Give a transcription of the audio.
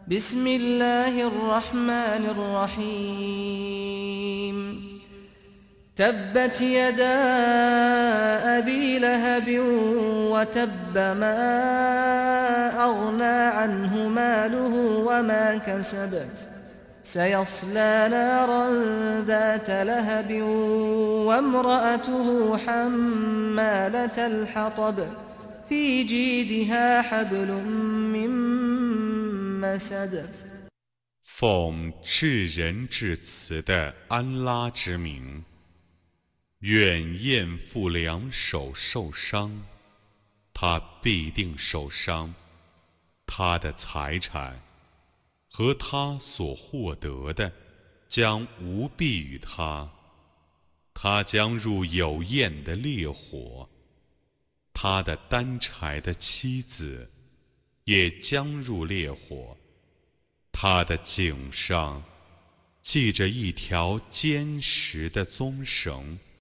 بسم الله الرحمن الرحيم تبت يدا أبي لهب وتب ما أغنى عنه ماله وما كسب سيصلى نارا ذات لهب وامرأته حمالة الحطب في جيدها حبل من مسد 奉至仁至慈的安拉之名，愿厌妇两手受伤，他必定受伤，他的财产和他所获得的将无裨于他，他将入有焰的烈火，他的担柴的妻子也将入烈火，他的颈上系着一条坚实的棕绳。